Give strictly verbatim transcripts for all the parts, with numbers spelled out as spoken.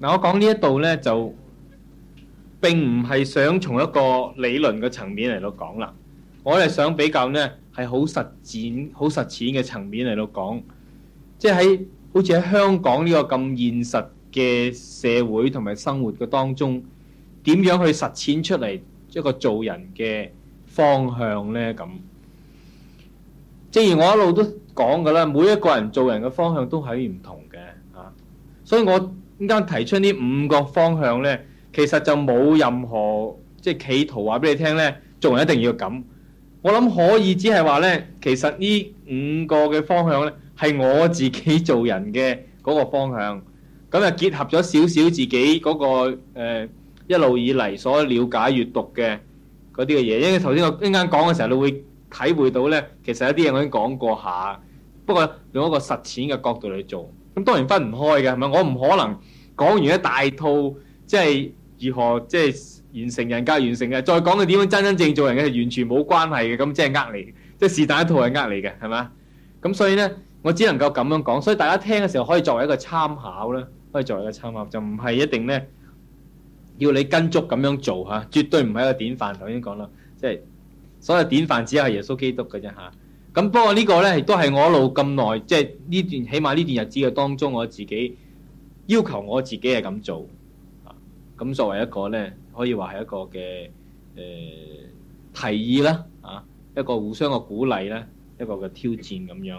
嗱，我講呢一度咧，就並唔係想從一個理論嘅層面嚟到講啦，我係想比較咧係好實踐、好實踐嘅層面嚟到講，即係喺好似喺香港呢個咁現實嘅社會同埋生活嘅當中，點樣去實踐出嚟一個做人嘅方向咧？咁，正如我一路都講㗎啦，每一個人做人嘅方向都係唔同嘅啊，所以我啱啱提出呢五個方向咧，其實就冇任何即係企圖話俾你聽咧，做人一定要咁。我諗可以只係話咧，其實呢五個嘅方向咧，係我自己做人嘅嗰個方向。咁啊，結合咗少少自己嗰個誒一路以嚟所了解閱讀嘅嗰啲嘅嘢。因為頭先我一陣間講嘅時候，你會體會到咧，其實有啲嘢我已經講過下，不過用一個實踐嘅角度嚟做。咁當然分唔開嘅，係咪？我唔可能講完一大套，即係如何即係完成人格完成嘅，再講佢點樣真真正做人嘅，係完全冇關係嘅。咁即係呃你，即係是但一套係呃你嘅，係嘛？咁所以咧，我只能夠咁樣講。所以大家聽嘅時候可以作為一個參考啦，可以作為一個參考，就唔係一定咧要你跟足咁樣做嚇，絕對唔係一個典範。頭先講啦，即係所謂典範只係耶穌基督嘅啫嚇。咁不過呢個咧亦都係我一路咁耐，即係呢段起碼呢段日子嘅當中，我自己要求我自己係咁做啊。咁作為一個咧，可以話係一個嘅誒、呃、提議啦，啊一個互相嘅鼓勵啦，一個嘅挑戰咁樣。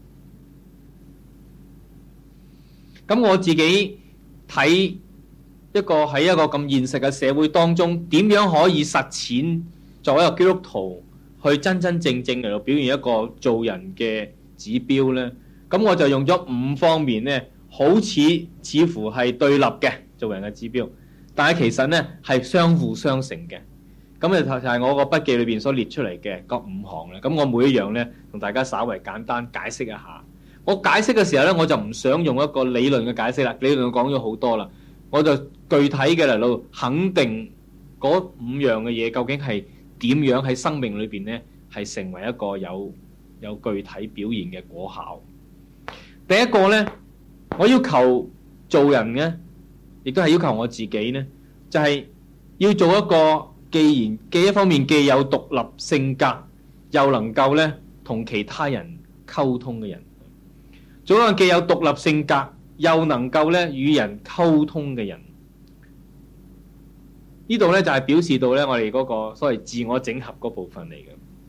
咁我自己睇一個喺一個咁現實嘅社會當中，點樣可以實踐作為一個基督徒去真真正正嚟到表現一個做人嘅指標呢？咁我就用咗五方面呢，好似似乎係對立嘅做人嘅指標，但係其實呢係相輔相成嘅。咁就就係我個筆記裏邊所列出嚟嘅嗰五項咧。咁我每一樣呢，同大家稍微簡單解釋一下。我解釋嘅時候呢，我就唔想用一個理論嘅解釋啦。理論講咗好多啦，我就具體嘅嚟到肯定嗰五樣嘅嘢究竟係點樣喺生命裏邊呢，係成為一個有有具體表現嘅果效。第一個呢，我要求做人呢，亦都係要求我自己呢，就係要做一個既然既一方面既有獨立性格，又能夠呢同其他人溝通嘅人。做一個既有獨立性格，又能夠呢與人溝通嘅人。呢度呢就係表示到呢我哋嗰個所謂自我整合嗰部分嚟嘅。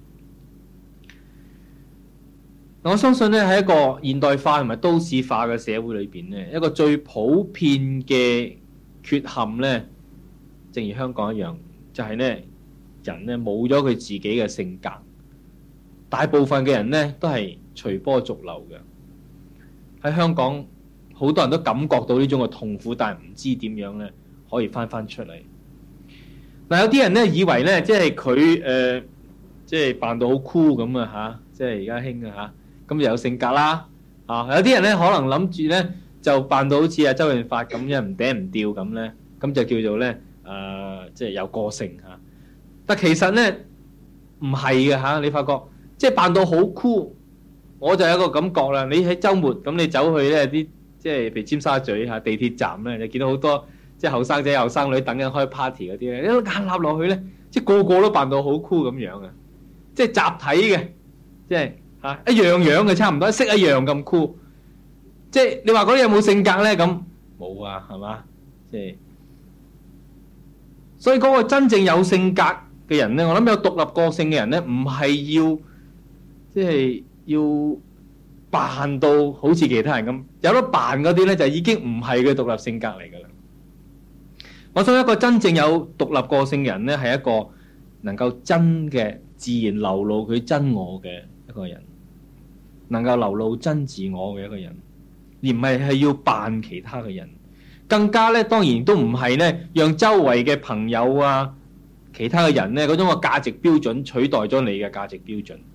我相信呢喺一個現代化同埋都市化嘅社會裏邊呢，一個最普遍嘅缺陷呢，正如香港一樣，就係呢人呢冇咗佢自己嘅性格。大部分嘅人呢都係隨波逐流嘅。喺香港好多人都感覺到呢種嘅痛苦，但係唔知點樣呢可以翻翻出嚟。嗱，有啲人呢以為呢，即係佢誒，即係扮到好酷咁啊嚇，即係而家興啊嚇，咁就有性格啦啊！有啲人呢可能諗住呢，就扮到好似阿周潤發咁樣唔嗲唔吊咁呢，咁就叫做呢，誒、呃，即係有個性嚇。但其實呢唔係嘅嚇，你發覺即係扮到好酷。我就有一個感覺啦，你喺週末咁，你走去咧啲即係譬如尖沙咀嚇地鐵站咧，你見到好多即係後生仔後生女等緊開 party 嗰啲咧，一眼揦落去咧，即係個個都扮到好酷咁樣嘅，即係集體嘅，即係嚇一樣樣嘅差唔多，識一樣咁酷。即係你話嗰啲有冇性格咧？咁冇啊，係嘛？即係所以嗰個真正有性格嘅人咧，我諗有獨立個性嘅人咧，唔係要即係。要扮到好似其他人咁，有得扮嗰啲咧就已經唔係佢獨立性格嚟噶啦。我想一個真正有獨立個性嘅人咧，係一個能夠真嘅自然流露佢真我嘅一個人，能夠流露真自我嘅一個人，而唔係係要扮其他嘅人。更加咧，當然都唔係咧，讓周圍嘅朋友啊、其他嘅人咧嗰種嘅價值標準取代咗你嘅價值標準。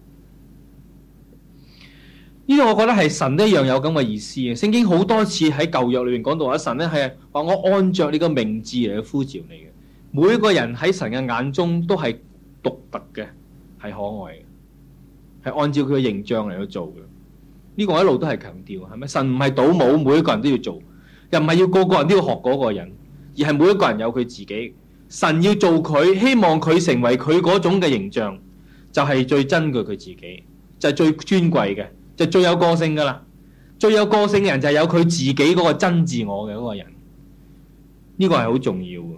呢個我覺得係神一樣有咁嘅意思嘅。聖經好多次喺舊約裏面講到話，神咧係話我按着你個名字嚟去呼召你嘅。每一個人喺神嘅眼中都係獨特嘅，係可愛嘅，係按照佢嘅形象嚟去做嘅。呢個我一路都係強調，係咪？神唔係倒模，每一個人都要做， 又唔係要個個人都要學嗰個人，而係每一個人有佢自己。神要做佢，希望佢成為佢嗰種嘅形象，就係最珍貴佢自己，就係最尊貴嘅，就最有個性噶啦。最有個性嘅人就係有佢自己嗰個真自我嘅嗰個人，呢個係好重要嘅。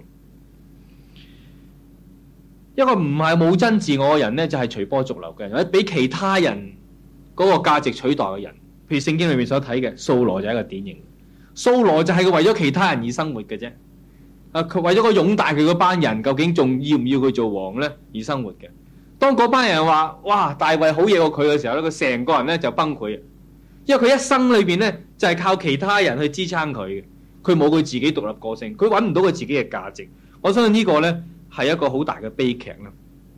一個唔係冇真自我嘅人呢，就係隨波逐流嘅人，或者俾其他人嗰個價值取代嘅人。譬如聖經裏面所睇嘅掃羅就係一個典型。掃羅就係佢為咗其他人而生活嘅啫。啊，佢為咗個擁戴佢嗰班人，究竟仲要唔要佢做王呢？而生活嘅。當嗰班人話哇大衛好嘢過佢嘅時候咧，佢成個人咧就崩潰。因為佢一生裏邊咧就係靠其他人去支撐佢嘅，佢冇佢自己獨立個性，佢揾唔到佢自己嘅價值。我相信呢個咧係一個好大嘅悲劇啦。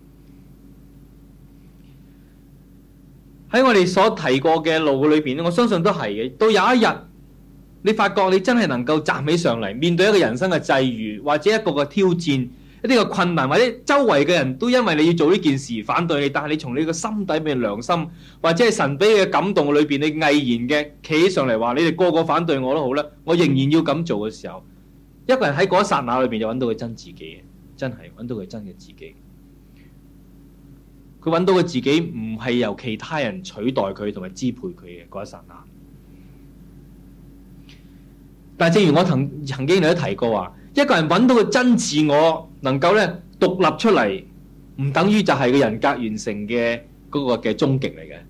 喺我哋所提過嘅路裏邊咧，我相信都係嘅。到有一日，你發覺你真係能夠站起上嚟，面對一個人生嘅際遇，或者一個嘅挑戰，一啲嘅困難，或者周圍嘅人都因為你要做呢件事反對你，但係你從你個心底面良心，或者係神俾你嘅感動裏邊，你毅然嘅企起上嚟話：你哋個個反對我都好啦，我仍然要咁做嘅時候，一個人喺嗰一剎那裏邊就揾到佢真自己，真係揾到佢真嘅自己。佢揾到佢自己唔係由其他人取代佢同埋支配佢嘅嗰一剎那。但係正如我曾曾經你都提過話，一個人揾到個真自我，能夠咧獨立出嚟，唔等於就係個人格完成嘅嗰個嘅終極嚟嘅。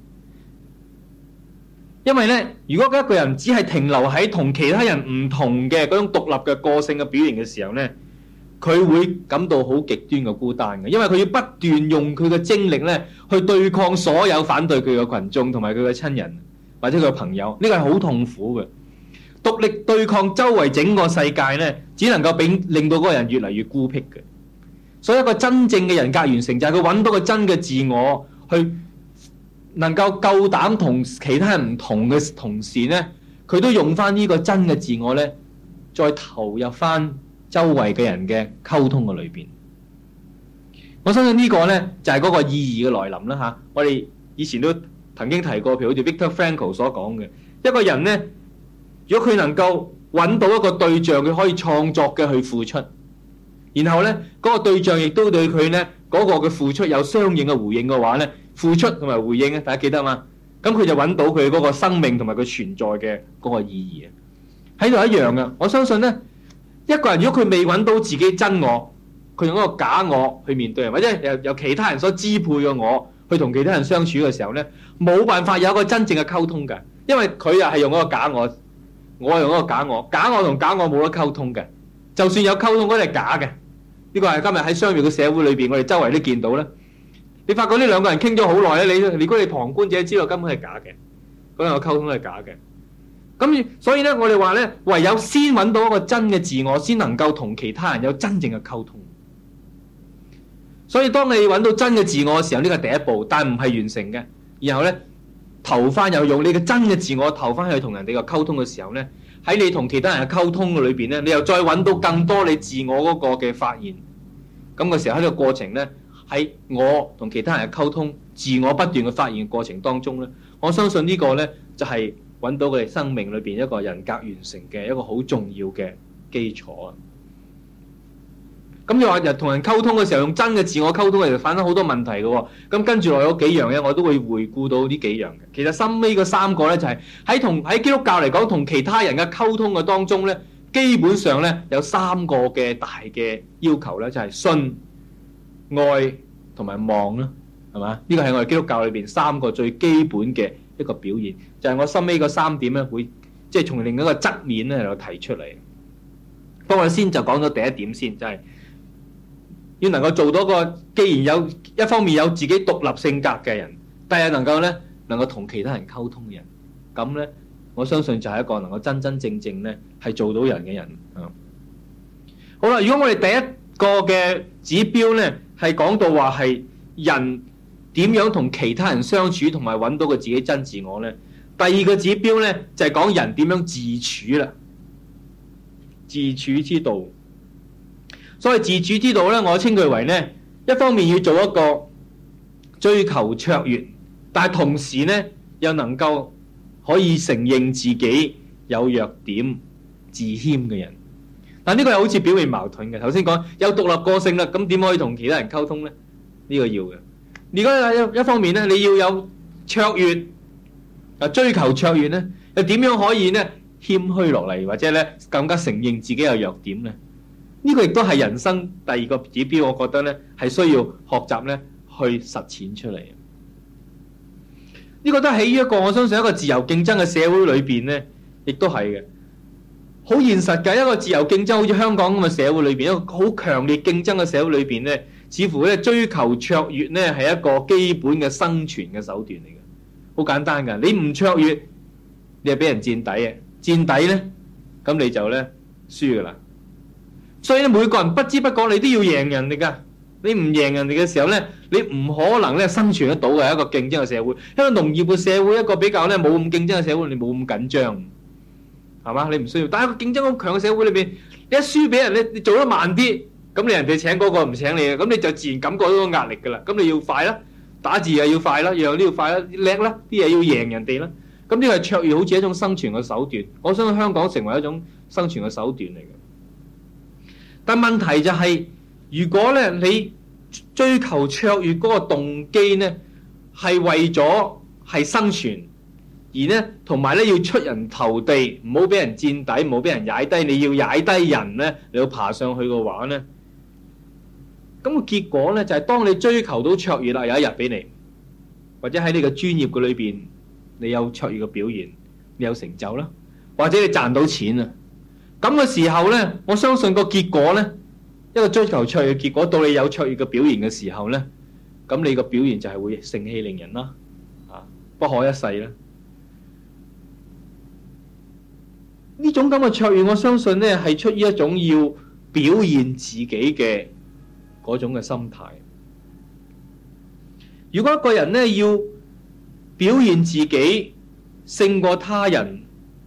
因為咧，如果一個人只係停留喺同其他人唔同嘅嗰種獨立嘅個性嘅表現嘅時候咧，佢會感到好極端嘅孤單嘅，因為佢要不斷用佢嘅精力咧去對抗所有反對佢嘅群眾同埋佢嘅親人或者佢嘅朋友，呢個係好痛苦嘅。獨力對抗周圍整個世界咧，只能夠俾令到嗰個人越嚟越孤僻嘅。所以一個真正嘅人格完成就係佢揾到個真嘅自我，去能夠夠膽同其他人唔同嘅同時咧，佢都用翻呢個真嘅自我咧，再投入翻周圍嘅人嘅溝通嘅裏邊。我相信呢個咧就係嗰個意義嘅來臨啦嚇。我哋以前都曾經提過，譬如好似 Viktor Frankl 所講嘅，一個人咧，如果佢能夠揾到一個對象，佢可以創作嘅去付出，然後咧嗰個對象亦都對佢咧嗰個嘅付出有相應嘅回應嘅話咧，付出同埋回應咧，大家記得嘛？咁佢就揾到佢嗰個生命同埋佢存在嘅嗰個意義啊！喺度一樣嘅，我相信咧，一個人如果佢未揾到自己真我，佢用一個假我去面對人，或者由由其他人所支配嘅我去同其他人相處嘅時候咧，冇辦法有一個真正嘅溝通嘅，因為佢又係用一個假我。我用嗰個假我，假我同假我冇得溝通嘅，就算有溝通嗰啲係假嘅。呢個係今日喺商業嘅社會裏邊，我哋周圍都見到啦。你發覺呢兩個人傾咗好耐咧，你如果你旁觀者知道根本係假嘅，嗰兩個溝通都係假嘅。咁所以咧，我哋話咧，唯有先揾到一個真嘅自我，先能夠同其他人有真正嘅溝通。所以當你揾到真嘅自我嘅時候，呢個係第一步，但唔係完成嘅。然後咧，投翻有用你嘅真嘅自我投翻去同人哋嘅溝通嘅時候咧，喺你同其他人嘅溝通嘅裏邊咧，你又再揾到更多你自我嗰個嘅發現。咁嘅時候喺呢個過程咧，喺我同其他人嘅溝通、自我不斷嘅發現嘅過程當中咧，我相信呢個咧就係揾到佢哋生命裏邊一個人格完成嘅一個好重要嘅基礎啊！咁你話人同人溝通嘅時候用真嘅自我溝通，其實反映好多問題嘅喎。咁跟住落有幾樣咧，我都會回顧到呢幾樣嘅。其實深尾嗰三個咧，就係喺同喺基督教嚟講，同其他人嘅溝通嘅當中咧，基本上咧有三個嘅大嘅要求咧，就係信、愛同埋望啦，係嘛？呢個係我哋基督教裏邊三個最基本嘅一個表現，就係我深尾嗰三點咧，會即係從另一個側面咧嚟提出嚟。不過我先就講咗第一點先，就係要能夠做到個，既然有一方面有自己獨立性格嘅人，但係能夠咧能夠同其他人溝通嘅人，咁咧我相信就係一個能夠真真正正咧係做到人嘅人啊。好啦，如果我哋第一個嘅指標咧係講到話係人點樣同其他人相處，同埋揾到個自己真自我咧，第二個指標咧就係講人點樣自處啦，自處之道。所謂自處之道咧，我稱佢為咧，一方面要做一個追求卓越，但係同時咧又能夠可以承認自己有弱點， 自謙嘅人。但呢個又好似表面矛盾嘅。頭先講有獨立個性啦，咁點可以同其他人溝通咧？呢、這個要嘅。如果一一方面咧，你要有卓越啊，追求卓越咧，又點樣可以咧謙虛落嚟，或者咧更加承認自己有弱點咧？呢、這個亦都係人生第二個指標，我覺得咧係需要學習咧去實踐出嚟。呢、這個都喺一個我相信一個自由競爭嘅社會裏邊咧，亦都係嘅。好現實嘅一個自由競爭，好似香港咁嘅社會裏邊，一個好強烈競爭嘅社會裏邊咧，似乎咧追求卓越咧係一個基本嘅生存嘅手段嚟嘅。好簡單㗎，你唔卓越，你係俾人墊底嘅，墊底咧，咁你就咧輸㗎啦。所以咧，每個人不知不覺你都要贏人哋㗎。你唔贏人哋嘅時候咧，你唔可能咧生存得到嘅一個競爭嘅社會。一個農業嘅社會，一個比較咧冇咁競爭嘅社會，你冇咁緊張。係嘛？你唔需要，但係個競爭好強嘅社會裏邊，你一輸俾人，你你做得慢啲，咁你人哋請嗰個唔請你嘅，咁你就自然感覺到個壓力㗎啦。咁你要快啦，打字又要快啦，樣都要快啦，叻啦，啲嘢要贏人哋啦。咁呢個係卓越，好似一種生存嘅手段。我相信香港成為一種生存嘅手段嚟嘅。但問題就係、是，如果咧你追求卓越嗰個動機咧，係為咗係生存。而咧，同埋咧要出人頭地，唔好俾人墊底，唔好俾人踩低。你要踩低人咧，你要爬上去嘅話咧，咁個結果咧就係當你追求到卓越啦，有一日俾你，或者喺你嘅專業嘅裏邊，你有卓越嘅表現，你有成就啦，或者你賺到錢啊，咁嘅時候咧，我相信個結果咧，一個追求卓越嘅結果，到你有卓越嘅表現嘅時候咧，咁你個表現就係會盛氣凌人啦，啊，不可一世啦。呢種咁嘅卓越，我相信咧係出於一種要表現自己嘅嗰種嘅心態。如果一個人咧要表現自己勝過他人，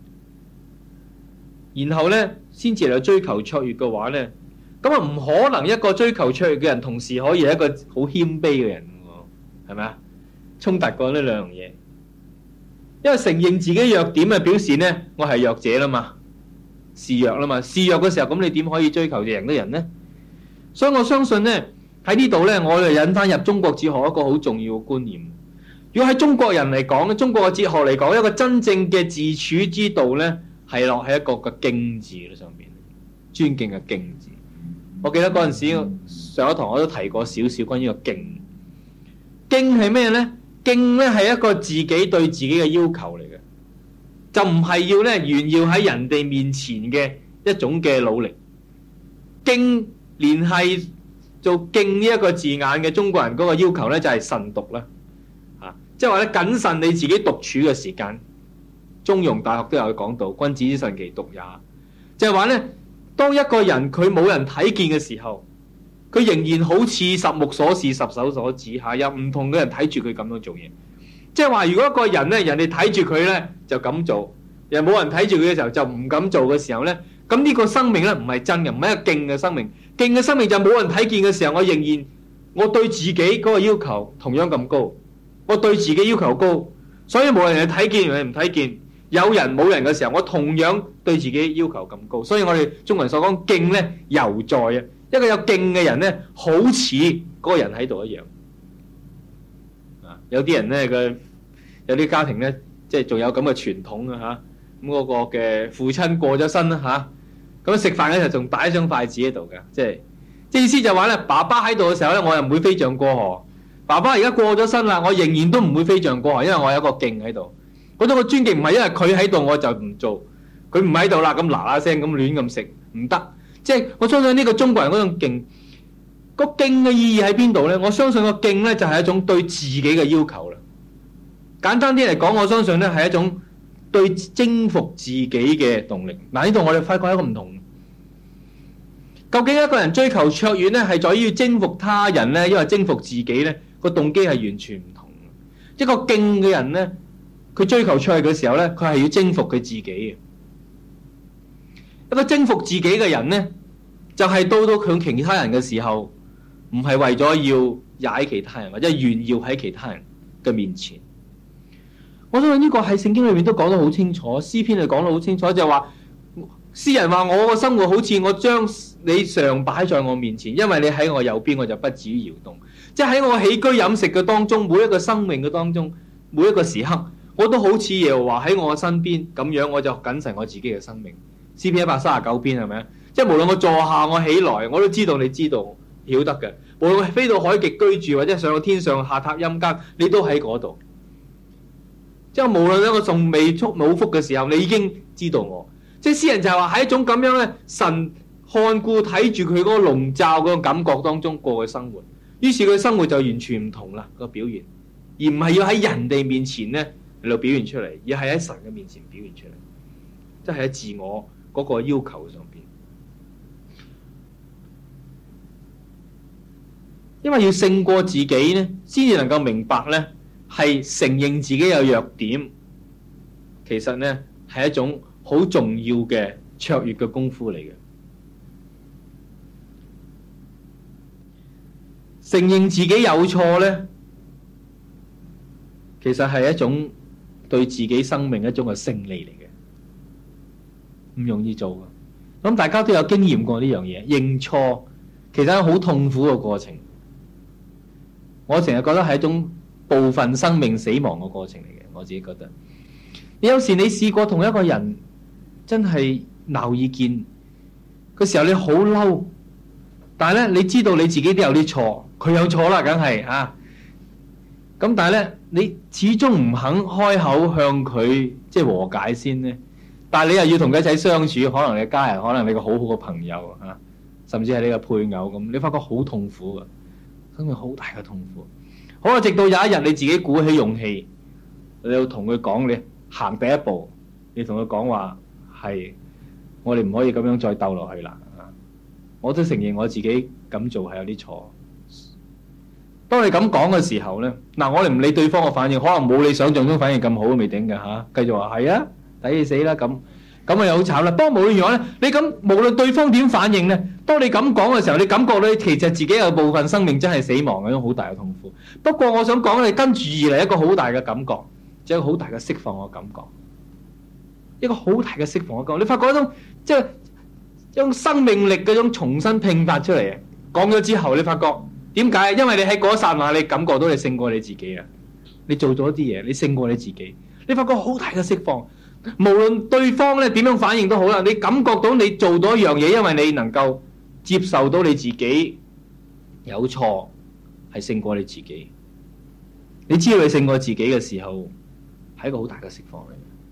然後咧先至嚟追求卓越嘅話咧，咁啊唔可能一個追求卓越嘅人同時可以係一個好謙卑嘅人喎，係咪啊？衝突過呢兩樣嘢。因為承認自己弱點啊，表示咧我係弱者啦嘛，示弱啦嘛，示弱嘅時候，咁你點可以追求贏得人呢？所以我相信咧喺呢度咧，我哋引翻入中國哲學一個好重要嘅觀念。如果喺中國人嚟講，中國嘅哲學嚟講，一個真正嘅自處之道咧，係落喺一個嘅敬字嘅上邊，尊敬嘅敬字。我記得嗰陣時上一堂我都提過少少關於個敬。敬係咩咧？敬咧係一個自己對自己嘅要求嚟嘅，就唔係要咧炫耀喺人哋面前嘅一種嘅努力。敬連係做敬呢一個字眼嘅中國人嗰個要求咧，就係慎獨啦，啊，即係話咧謹慎你自己獨處嘅時間。中庸大學都有講到，君子之慎其獨也，就係話咧，當一個人佢冇人睇見嘅時候，佢仍然好似十目所視、十手所指下，有唔同嘅人睇住佢咁樣做嘢。即係話，如果一個人咧，人哋睇住佢咧就咁做，又冇人睇住佢嘅時候就唔敢做嘅時候咧，咁呢個生命咧唔係真嘅，唔係一個敬嘅生命。敬嘅生命就冇人睇見嘅時候，我仍然我對自己嗰個要求同樣咁高，我對自己要求高，所以冇人睇見，人哋唔睇見，有人冇人嘅時候，我同樣對自己要求咁高。所以我哋中國人所講敬咧，猶在啊。一個有敬嘅人咧，好似嗰個人喺度一樣。啊，有啲人咧，佢有啲家庭咧，即係仲有咁嘅傳統啊嚇。咁嗰個嘅父親過咗身啦嚇，咁食飯嘅時候仲擺一雙筷子喺度嘅，即係即係意思就話咧，爸爸喺度嘅時候咧，我又唔會飛象過河。爸爸而家過咗身啦，我仍然都唔會飛象過河，因為我有一個敬喺度。嗰種嘅尊敬唔係因為佢喺度我就唔做，佢唔喺度啦，咁嗱嗱聲咁亂咁食唔得。即係我相信呢個中國人嗰種敬，個敬嘅意義喺邊度咧？我相信個敬咧就係一種對自己嘅要求啦。簡單啲嚟講，我相信咧係一種對征服自己嘅動力。嗱，呢度我哋發覺一個唔同。究竟一個人追求卓越咧，係在於征服他人咧，因為征服自己咧，個動機係完全唔同。一個敬嘅人咧，佢追求卓越嘅時候咧，佢係要征服佢自己嘅。一個征服自己嘅人呢，就係、是、到到佢其他人嘅時候，唔係為咗要踩其他人，或者炫耀喺其他人嘅面前。我相信呢個喺聖經裏面都講得好清楚，詩篇就講得好清楚，就係話詩人話我個生活好似我將你常擺在我面前，因為你喺我右邊，我就不至於搖動。即係喺我起居飲食嘅當中，每一個生命嘅當中，每一個時刻，我都好似耶和華喺我身邊咁樣，我就謹慎我自己嘅生命。詩篇一百三十九篇係咪啊？即係無論我坐下我起來，我都知道你知道曉得嘅。無論我飛到海極居住，或者上到天上下榻陰間，你都喺嗰度。即係無論咧我仲未觸冇福嘅時候，你已經知道我。即係詩人就係話喺一種咁樣咧，神看顧睇住佢嗰個籠罩嗰個感覺當中過嘅生活，於是佢生活就完全唔同啦，個表現，而唔係要喺人哋面前咧嚟到表現出嚟，而係喺神嘅面前表現出嚟，即係喺自我嗰個要求上邊。因為要勝過自己咧，先至能夠明白咧，係承認自己有弱點，其實咧係一種好重要嘅卓越嘅功夫嚟嘅。承認自己有錯呢，其實係一種對自己生命一種嘅勝利嚟嘅，唔容易做嘅。咁大家都有經驗過呢樣嘢，認錯其實係好痛苦嘅過程。我成日覺得係一種部分生命死亡嘅過程嚟嘅，我自己覺得。有時你試過同一個人真係鬧意見嘅時候，你好嬲，但係咧你知道你自己都有啲錯，佢有錯啦，梗係啊。咁但係咧，你始終唔肯開口向佢即係和解先咧。但係你又要同佢一齊相處，可能你家人，可能你個好好嘅朋友啊，甚至係你個配偶咁，你發覺好痛苦㗎，生命好大嘅痛苦。好啦，直到有一日你自己鼓起勇氣，你要同佢講，你行第一步，你同佢講話係，我哋唔可以咁樣再鬥落去啦。我都承認我自己咁做係有啲錯。當你咁講嘅時候咧，嗱，我哋唔理對方嘅反應，可能冇你想象中反應咁好都未定嘅嚇，繼續話係啊，抵你死啦咁，咁啊又好慘啦。不過無論如何咧，你咁無論對方點反應咧，當你咁講嘅時候，你感覺咧其實自己有部分生命真係死亡嘅一種好大嘅痛苦。不過我想講，你跟住而嚟一個好大嘅感覺，就係一個好大嘅釋放嘅感覺，一個好大嘅釋放嘅感覺。你發覺一種即係一種生命力嗰種重新迸發出嚟嘅。講咗之後，你發覺點解？因為你喺嗰一剎那，你感覺到你勝過你自己啊！你做咗啲嘢，你勝過你自己。你發覺好大嘅釋放，無論對方咧點樣反應都好啦，你感覺到你做到一樣嘢，因為你能夠接受到你自己有錯，係勝過你自己。你知道你勝過自己嘅時候，係一個好大嘅釋放嚟。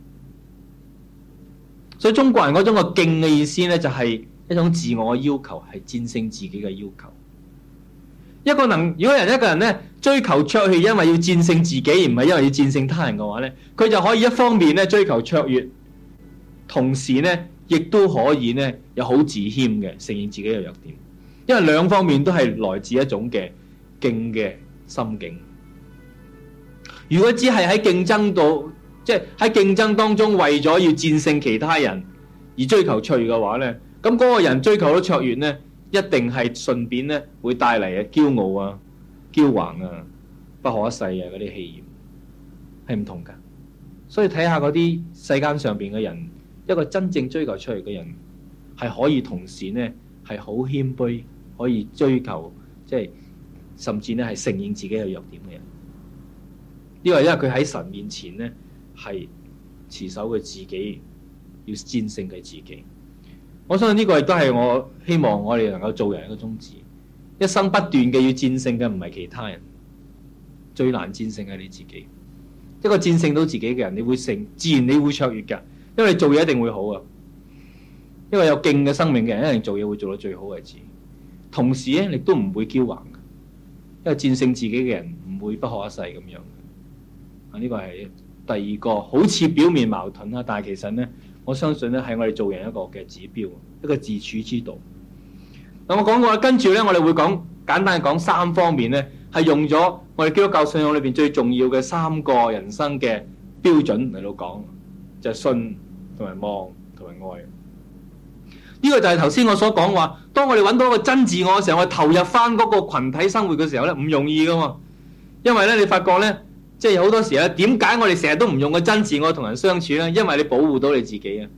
所以中國人嗰種嘅敬嘅意思咧，就係一種自我嘅要求，係戰勝自己嘅要求。一個能，如果人一個人咧追求卓越，因為要戰勝自己，而唔係因為要戰勝他人嘅話咧，佢就可以一方面咧追求卓越，同時咧亦都可以咧有好自謙嘅承認自己嘅弱點，因為兩方面都係來自一種嘅敬嘅心境。如果只係喺競爭度，即係喺競爭當中為咗要戰勝其他人而追求卓越嘅話咧，咁嗰個人追求到卓越咧，一定係順便咧會帶嚟嘅驕傲啊、驕橫啊、不可一世啊嗰啲氣焰，係唔同噶。所以睇下嗰啲世間上邊嘅人，一個真正追求卓越嘅人，係可以同時咧係好謙卑，可以追求即係甚至咧係承認自己有弱點嘅人。呢個係因為佢喺神面前咧係持守佢自己，要戰勝佢自己。我相信呢個亦都係我希望我哋能夠做人一個宗旨，一生不斷嘅要戰勝嘅唔係其他人，最難戰勝係你自己。一個戰勝到自己嘅人，你會成自然你會卓越㗎，因為你做嘢一定會好啊。一個有勁嘅生命嘅人，一定做嘢會做到最好為止。同時咧，你都唔會驕橫嘅，因為戰勝自己嘅人唔會不可一世咁樣。啊，呢個係第二個，好似表面矛盾啦，但係其實咧。我相信咧係我哋做人一個嘅指標，一個自處之道。咁我講過，跟住咧我哋會講簡單講三方面咧，係用咗我哋基督教信仰裏邊最重要嘅三個人生嘅標準嚟到講，就係信同埋望同埋愛。呢個就係頭先我所講話，當我哋揾到一個真自我嘅時候，我哋投入翻嗰個群體生活嘅時候咧，唔容易噶嘛。因為咧你發覺咧。即係好多時咧，點解我哋成日都唔用個真自我同人相處咧？因為你保護到你自己啊！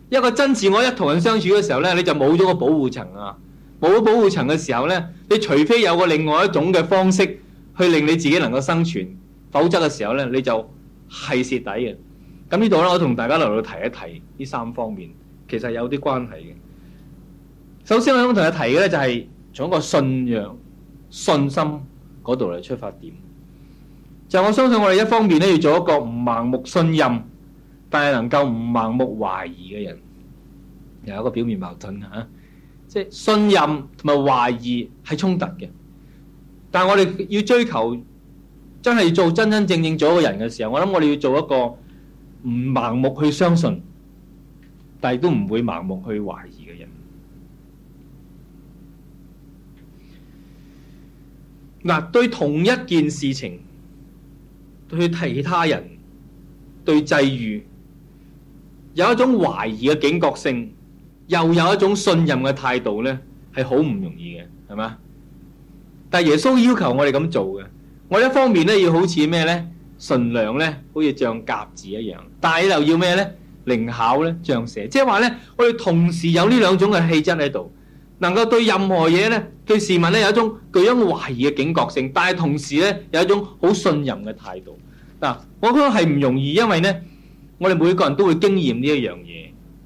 一個真自我一同人相處嘅時候咧，你就冇咗個保護層啊！冇咗保護層嘅時候咧，你除非有個另外一種嘅方式去令你自己能夠生存，否則嘅時候咧，你就係蝕底嘅。咁呢度咧，我同大家嚟到提一提呢三方面，其實有啲關係嘅。首先我想同你提嘅咧，就係從一個信仰、信心嗰度嚟出發點。就我相信我哋一方面咧，要做一個唔盲目信任，但係能夠唔盲目懷疑嘅人，又有一個表面矛盾嚇。即係信任同埋懷疑係衝突嘅，但係我哋要追求真係做真真正正做一個人嘅時候，我諗我哋要做一個唔盲目去相信，但係都唔會盲目去懷疑嘅人。嗱，對同一件事情，對其他人，對際遇，有一種懷疑嘅警覺性，又有一種信任嘅態度咧，係好唔容易嘅，係嘛？但係耶穌要求我哋咁做嘅，我一方面咧要好似咩咧，純良咧，好似像鴿子一樣，但係又要咩咧，靈巧咧，像蛇。即係話咧，我哋同時有呢兩種嘅氣質喺度，能夠對任何嘢咧，對事物咧有一種具有懷疑嘅警覺性，但係同時咧有一種好信任嘅態度。嗱，我覺得係唔容易，因為咧，我哋每個人都會經驗呢一樣嘢。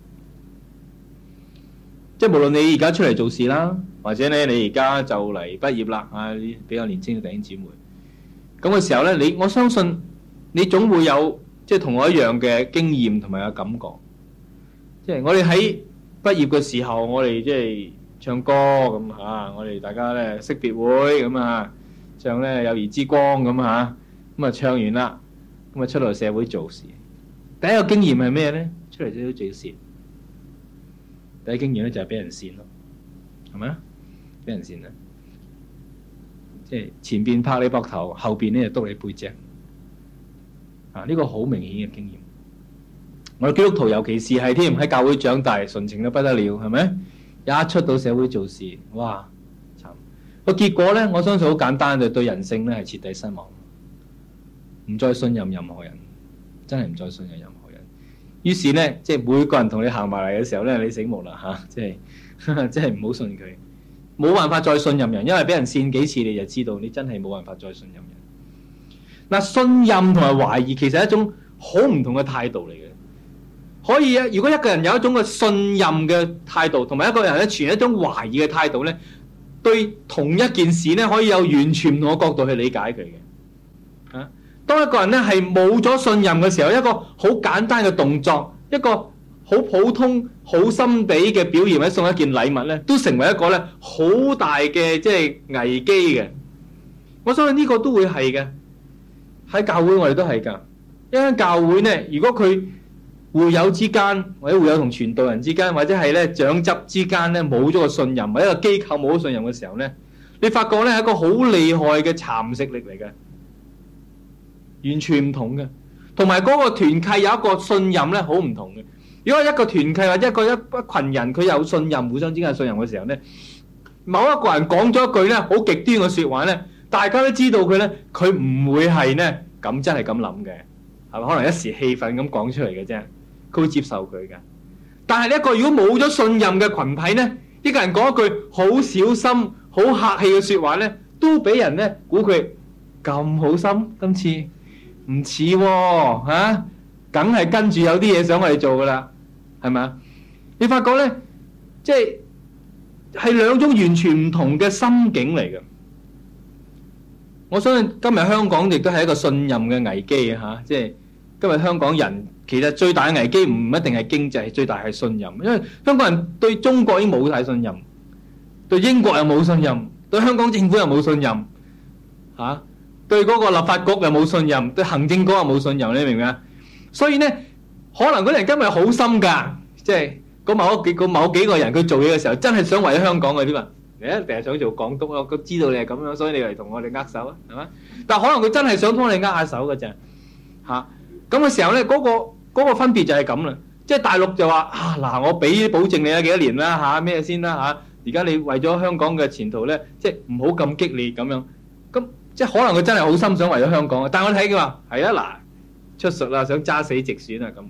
即係無論你而家出嚟做事啦，或者咧你而家就嚟畢業啦，啊，比較年輕嘅弟兄姊妹，咁嘅時候咧，你我相信你總會有即係同我一樣嘅經驗同埋有感覺。即係我哋喺畢業嘅時候，我哋即係唱歌咁嚇，我哋大家咧識別會咁啊，唱咧友誼之光咁嚇，咁啊唱完啦，咁啊出嚟社會做事。第一個經驗係咩咧？出嚟社會做事。第一經驗咧就係俾人跣咯，係咪啊？俾人跣啊！即係前邊拍你膊頭，後邊咧就督你背脊。啊！呢個好明顯嘅經驗。我哋基督徒尤其是係添喺教會長大，純情到不得了，係咪？一出到社會做事，哇！慘！個結果咧，我相信好簡單，就對人性咧係徹底失望，唔再信任任何人，真係唔再信任任何人。於是咧，即係每個人同你行埋嚟嘅時候咧，你醒目啦嚇！即係即係唔好信佢，冇辦法再信任人，因為俾人跣幾次，你就知道你真係冇辦法再信任人。嗱，信任同埋懷疑其實係一種好唔同嘅態度嚟嘅。可以啊，如果一個人有一種嘅信任嘅態度，同埋一個人咧存一種懷疑嘅態度咧，對同一件事咧可以有完全唔同嘅角度去理解佢嘅。嚇！當一個人咧係冇咗信任嘅時候，一個好簡單嘅動作，一個好普通、好心地嘅表現，或者送一件禮物咧，都成為一個咧好大嘅即係危機嘅。我相信呢個都會係嘅。喺教會我哋都係㗎。一間教會咧，如果佢會友之間，或者會友同傳道人之間，或者係咧長執之間咧冇咗個信任，或者一個機構冇咗信任嘅時候咧，你發覺咧係一個好厲害嘅蠶食力嚟嘅。完全唔同嘅，同埋嗰個團契有一個信任咧，好唔同嘅。如果一個團契或者一個一一群人佢有信任，互相之間有信任嘅時候咧，某一個人講咗一句咧好極端嘅説話咧，大家都知道佢咧，佢唔會係咧咁真係咁諗嘅，係咪？可能一時氣憤咁講出嚟嘅啫，佢會接受佢嘅。但係呢一個如果冇咗信任嘅群體咧，一個人講一句好小心、好客氣嘅説話咧，都俾人咧估佢咁好心，今次。唔似喎嚇，梗係跟住有啲嘢想我哋做噶啦，係咪啊？你發覺咧，即係係兩種完全唔同嘅心境嚟嘅。我相信今日香港亦都係一個信任嘅危機嚇，即係今日香港人其實最大嘅危機唔一定係經濟，最大係信任。因為香港人對中國已經冇晒信任，對英國又冇信任，對香港政府又冇信任嚇。對嗰個立法局又冇信任，對行政局又冇信任，你明唔明啊？所以咧，可能嗰啲人今日好心㗎，即係嗰某幾個某幾個人佢做嘢嘅時候，真係想為咗香港嘅啲嘛？你一定係想做港督咯，佢知道你係咁樣，所以你嚟同我哋握手啊，係嘛？但係可能佢真係想幫你握下手嘅啫，嚇咁嘅時候咧，嗰個嗰個分別就係咁啦。即係大陸就話啊嗱，我俾保證你啊幾多年啦嚇咩先啦嚇，而家你為咗香港嘅前途咧，即係唔好咁激烈咁樣咁。即係可能佢真係好心想為咗香港，但係我睇佢話係啊嗱出術啦，想揸死直選啊咁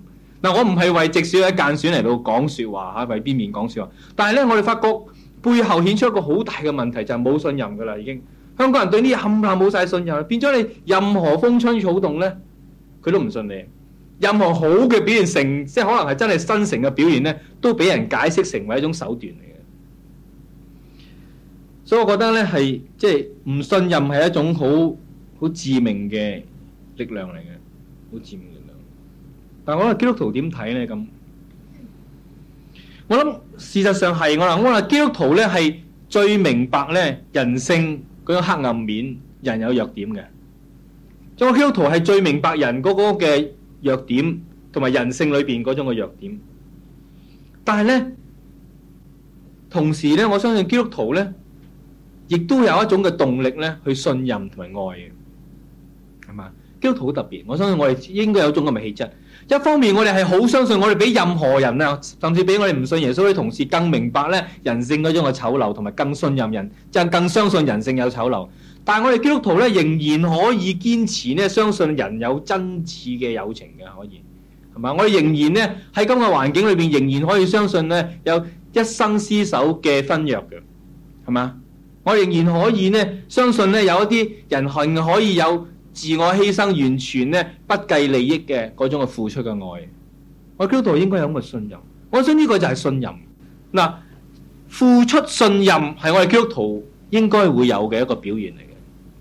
嗱，我唔係為直選或者間選嚟到講說話嚇，為邊面講說話。但係咧，我哋發覺背後顯出一個好大嘅問題，就係冇信任噶啦，已經香港人對呢啲冚唪唥冇晒信任，變咗你任何風吹草動咧，佢都唔信你。任何好嘅表現成，即係可能係真係真誠嘅表現咧，都俾人解釋成為一種手段嚟嘅。所以我覺得咧係即係唔信任係一種好好致命嘅力量嚟嘅，好致命。但係我話基督徒點睇咧？咁我諗事實上係我諗，我話基督徒咧係最明白咧人性嗰種黑暗面，人有弱點嘅。咁基督徒係最明白人嗰個嘅弱點，同埋人性裏邊嗰種嘅弱點。但係咧，同時咧，我相信基督徒咧，亦都有一種嘅動力咧，去信任同埋愛嘅，係嘛？基督徒好特別，我相信我哋應該有種咁嘅氣質。一方面我哋係好相信我哋比任何人啊，甚至比我哋唔信耶穌嘅同事更明白咧人性嗰種嘅醜陋，同埋更信任人，就更相信人性有醜陋。但係我哋基督徒咧仍然可以堅持咧相信人有真摯嘅友情嘅，可以係嘛？我哋仍然咧喺咁嘅環境裏邊仍然可以相信咧有一生廝守嘅婚約嘅，係嘛？我仍然可以咧相信咧有一啲人係可以有自我犧牲，完全咧不計利益嘅嗰種嘅付出嘅愛，我基督徒應該有咁嘅信任。我想呢個就係信任。嗱，付出信任係我哋基督徒應該會有嘅一個表現嚟嘅。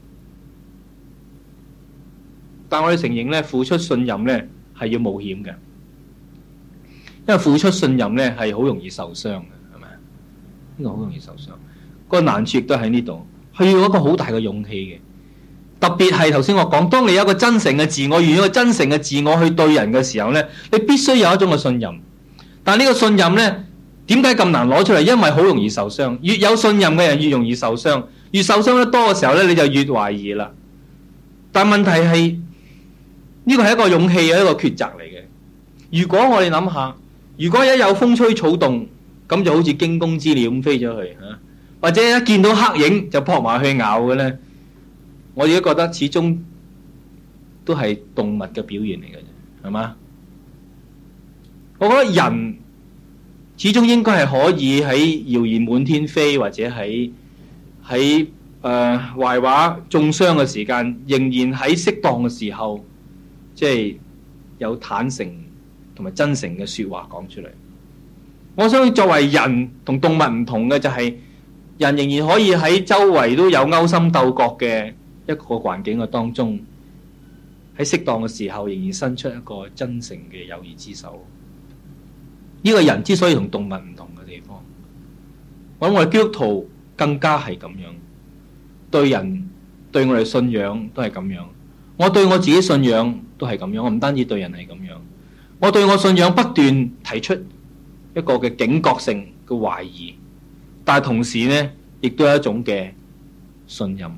但我哋承認咧，付出信任咧係要冒險嘅，因為付出信任咧係好容易受傷嘅，係咪？呢個好容易受傷。個難處亦都喺呢度，係要一個好大嘅勇氣嘅。特別係頭先我講，當你有一個真誠嘅自我，願意一個真誠嘅自我去對人嘅時候咧，你必須有一種嘅信任。但係呢個信任咧，點解咁難攞出嚟？因為好容易受傷。越有信任嘅人越容易受傷，越受傷得多嘅時候咧，你就越懷疑啦。但問題係呢個係一個勇氣嘅一個抉擇嚟嘅。如果我哋諗下，如果一有風吹草動，咁就好似驚弓之鳥咁飛咗去嚇，或者一見到黑影就撲埋去咬嘅咧。我哋都覺得始終都係動物嘅表現嚟嘅啫，係嘛？我覺得人始終應該係可以喺謠言滿天飛，或者喺喺誒壞話中傷嘅時間，仍然喺適當嘅時候，即係有坦誠同埋真誠嘅説話講出嚟。我相信作為人同動物唔同嘅就係，人仍然可以喺周圍都有勾心鬥角嘅一個環境嘅當中，喺適當嘅時候仍然伸出一個真誠嘅友誼之手。呢個人之所以同動物唔同嘅地方，我諗我哋基督徒更加係咁樣，對人對我哋信仰都係咁樣。我對我自己信仰都係咁樣，我唔單止對人係咁樣，我對我信仰不斷提出一個嘅警覺性嘅懷疑，但係同時呢，亦都有一種嘅信任。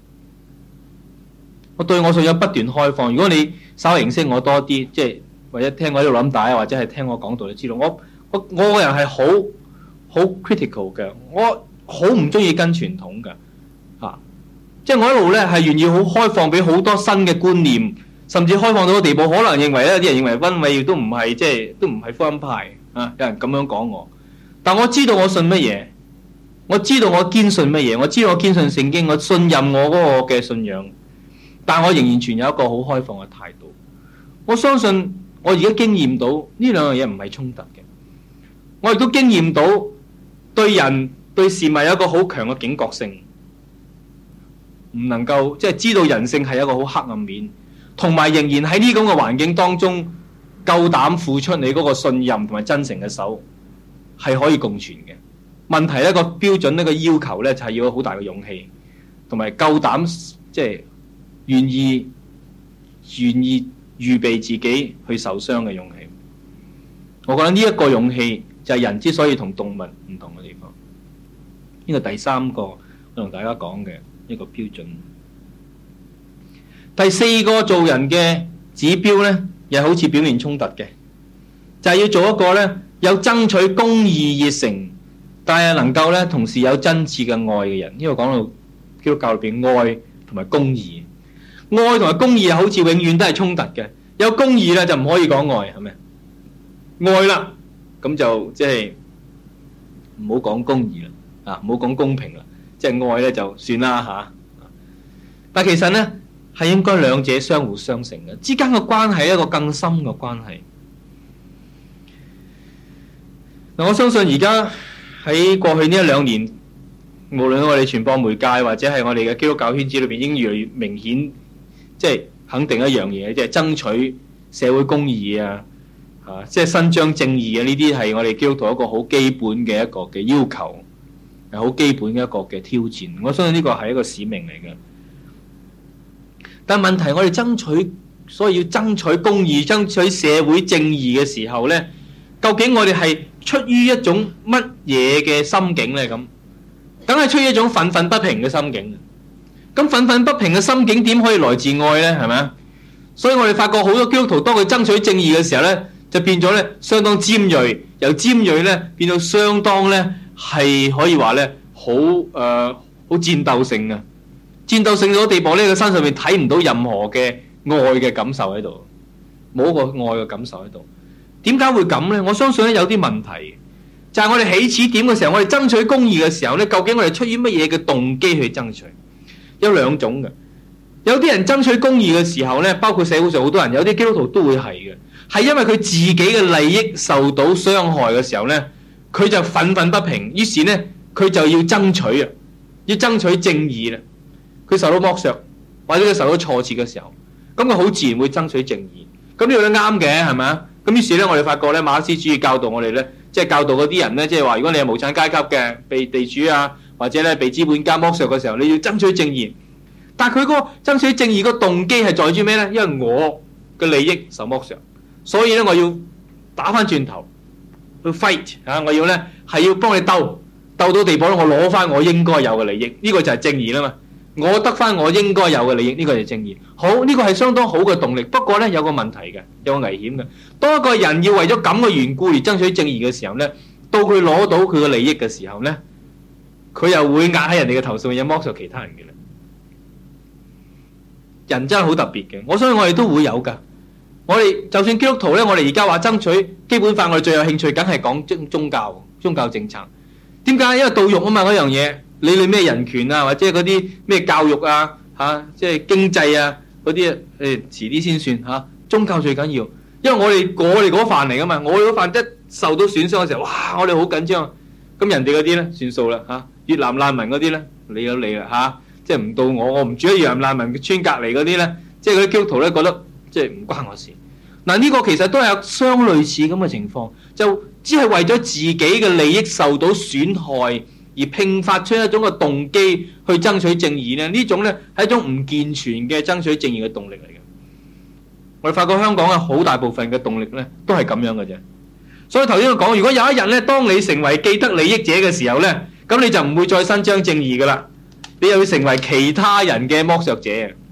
我對我信仰不斷開放。如果你稍微認識我多啲，即係或者聽我喺度諗帶，或者係聽我講道，你知道我我我個人係好好 critical 嘅，我好唔中意跟傳統嘅嚇、啊，即係我一路咧係願意好開放俾好多新嘅觀念，甚至開放到個地步，可能認為咧啲人認為溫偉都唔係即係都唔係福音派啊，有人咁樣講我，但我知道我信乜嘢，我知道我堅信乜嘢，我知道我堅信聖經，我信任我嗰個嘅信仰。但我仍然存有一個好開放嘅態度。我相信我而家經驗到呢兩樣嘢唔係衝突嘅。我亦都經驗到對人對事物有一個好強嘅警覺性，唔能夠即係知道人性係一個好黑暗面，同埋仍然喺呢咁嘅環境當中夠膽付出你嗰個信任同埋真誠嘅手，係可以共存嘅。問題呢個標準呢個要求呢，就係要好大嘅勇氣，同埋夠膽即係。願意願意預備自己去受傷嘅勇氣，我覺得呢一個勇氣就係人之所以同動物唔同嘅地方。呢個第三個我同大家講嘅一個標準。第四個做人嘅指標呢，又好似表面衝突嘅，就係要做一個呢有爭取公義熱誠，但係能夠呢同時有真摯嘅愛嘅人。呢個講到基督教裏邊愛同埋公義。愛同埋公義好似永遠都係衝突嘅，有公義咧就唔可以講愛，係咪？ 愛啦，咁就即係唔好講公義啦，啊唔好講公平啦，即係愛咧就算啦吓。但其實咧係應該兩者相互相成嘅，之間嘅關係係一個更深嘅關係。嗱，我相信而家喺過去呢一兩年，無論我哋傳播媒介或者係我哋嘅基督教圈子裏邊，已經越嚟越明顯，即係肯定一樣嘢，即係爭取社會公義啊，啊，即係伸張正義啊，呢啲係我哋基督徒一個好基本嘅一個嘅要求，係好基本嘅一個嘅挑戰。我相信呢個係一個使命嚟嘅。但問題，我哋爭取，所以要爭取公義、爭取社會正義嘅時候呢，究竟我哋係出於一種乜嘢嘅心境呢？咁，梗係出於一種憤憤不平嘅心境。咁憤憤不平嘅心境點可以來自愛呢？係咪啊？所以我哋發覺好多基督徒當佢爭取正義嘅時候呢，就變咗呢相當尖銳，由尖銳呢變到相當呢係可以話呢好誒好戰鬥性嘅。戰鬥性到地步呢，佢身上面睇唔到任何嘅愛嘅感受喺度，冇一個愛嘅感受喺度。點解會咁呢？我相信咧有啲問題，就係我哋起始點嘅時候，我哋爭取公義嘅時候呢，究竟我哋出於乜嘢嘅動機去爭取？有兩種嘅，有啲人爭取公義嘅時候呢，包括社會上好多人，有啲基督徒都會係嘅，係因為佢自己嘅利益受到傷害嘅時候呢，佢就憤憤不平，於是呢，佢就要爭取啊，要爭取正義啦。佢受到剝削，或者佢受到挫折嘅時候，咁佢好自然會爭取正義。咁呢個都啱嘅，係咪啊？咁於是咧，我哋發覺咧，馬克思主義教導我哋咧，即係教導嗰啲人咧，即係話，如果你係無產階級嘅，被地主啊，或者咧被資本家剝削嘅時候，你要爭取正義。但係佢嗰個爭取正義個動機係在於咩咧？因為我嘅利益受剝削，所以咧我要打翻轉頭去 fight 啊！我要咧係要幫你鬥，鬥到地步咧，我攞翻我應該有嘅利益。呢個就係正義啦嘛。我得翻我應該有嘅利益，呢個就係正義。好，呢個係相當好嘅動力。不過呢，有個問題嘅，有個危險嘅。當一個人要為咗咁嘅緣故而爭取正義嘅時候呢，到佢攞到佢嘅利益嘅時候呢，佢又會壓喺人哋嘅頭上，有剝削其他人嘅啦。人真係好特別嘅，我相信我哋都會有噶。我哋就算基督徒呢，我哋而家話爭取基本法，我哋最有興趣，梗係講宗宗教、宗教政策。點解？因為道育啊嘛，嗰樣嘢。理你咩人權啊，或者嗰啲咩教育啊，嚇、啊，即係經濟啊嗰啲，誒、哎、遲啲先算嚇、啊。宗教最緊要，因為我哋我哋嗰飯嚟噶嘛，我哋嗰飯一受到損傷嘅時候，哇！我哋好緊張。咁人哋嗰啲咧算數啦嚇，越南難民嗰啲咧，理都理啦嚇，即係唔到我，我唔住喺越南難民嘅村隔離嗰啲咧，即係嗰啲基督徒咧覺得即係唔關我事。嗱，呢個其實都係有相類似咁嘅情況，就只係為咗自己嘅利益受到損害，而迸發出一種嘅動機去爭取正義咧，呢種咧係一種唔健全嘅爭取正義嘅動力嚟嘅。我哋發覺香港嘅好大部分嘅動力咧，都係咁樣嘅啫。所以頭先我講，如果有一日咧，當你成為既得利益者嘅時候咧，咁你就唔會再伸張正義噶啦，你又要成為其他人嘅剝削者。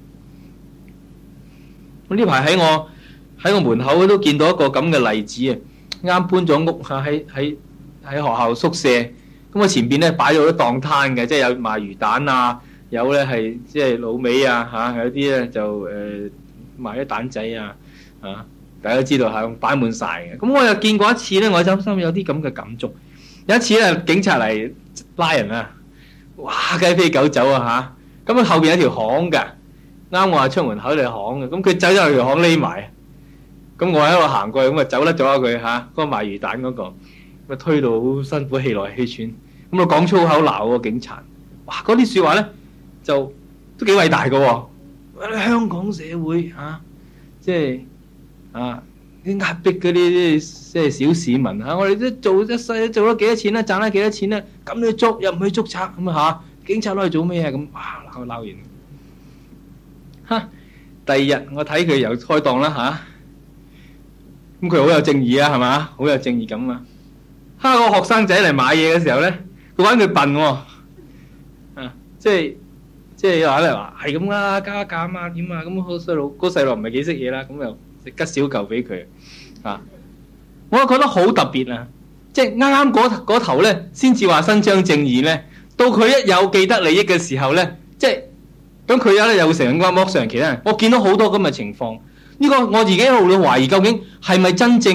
咁呢排喺我喺我門口都見到一個咁嘅例子啊！啱搬咗屋嚇，喺喺喺學校宿舍。咁我前邊咧擺咗好多檔攤嘅，即係有賣魚蛋啊，有咧係即係滷味啊嚇，有啲咧就誒、呃、賣啲蛋仔啊嚇，大家都知道嚇，擺滿晒嘅。咁我又見過一次咧，我心心有啲咁嘅感觸。有一次咧，警察嚟拉人啊，哇雞飛狗走啊嚇！咁啊後邊有條巷㗎，啱我話出門口條巷嘅，咁佢走咗去條巷匿埋，咁我喺度行過去，咁啊走甩咗佢嚇，嗰、那個賣魚蛋嗰、那個。咪推到好辛苦，氣來氣喘，咁啊講粗口鬧個警察，哇！嗰啲説話咧就都幾偉大嘅喎。香港社會啊，即係啊啲壓迫嗰啲即係小市民嚇，我哋都做一世做咗幾多錢咧，賺咗幾多錢咧，咁你捉又唔去捉賊咁啊嚇？警察攞去做咩啊？咁哇鬧鬧完嚇，第二日我睇佢又開檔啦嚇，咁佢好有正義啊係嘛？好有正義感啊！哈！個學生仔嚟買嘢嘅時候咧，佢玩佢笨喎，啊，即係即係話咧話係咁啦，加價啊嘛，點啊咁，個細路個細路唔係幾識嘢啦，咁又吉少嚿俾佢啊！我覺得好特別啊，即係啱啱嗰嗰頭咧，先至話伸張正義咧，到佢一有既得利益嘅時候咧，即係咁佢有咧又成日剝削其他人。我見到好多咁嘅情況，呢個我自己一路都懷疑究竟係咪真正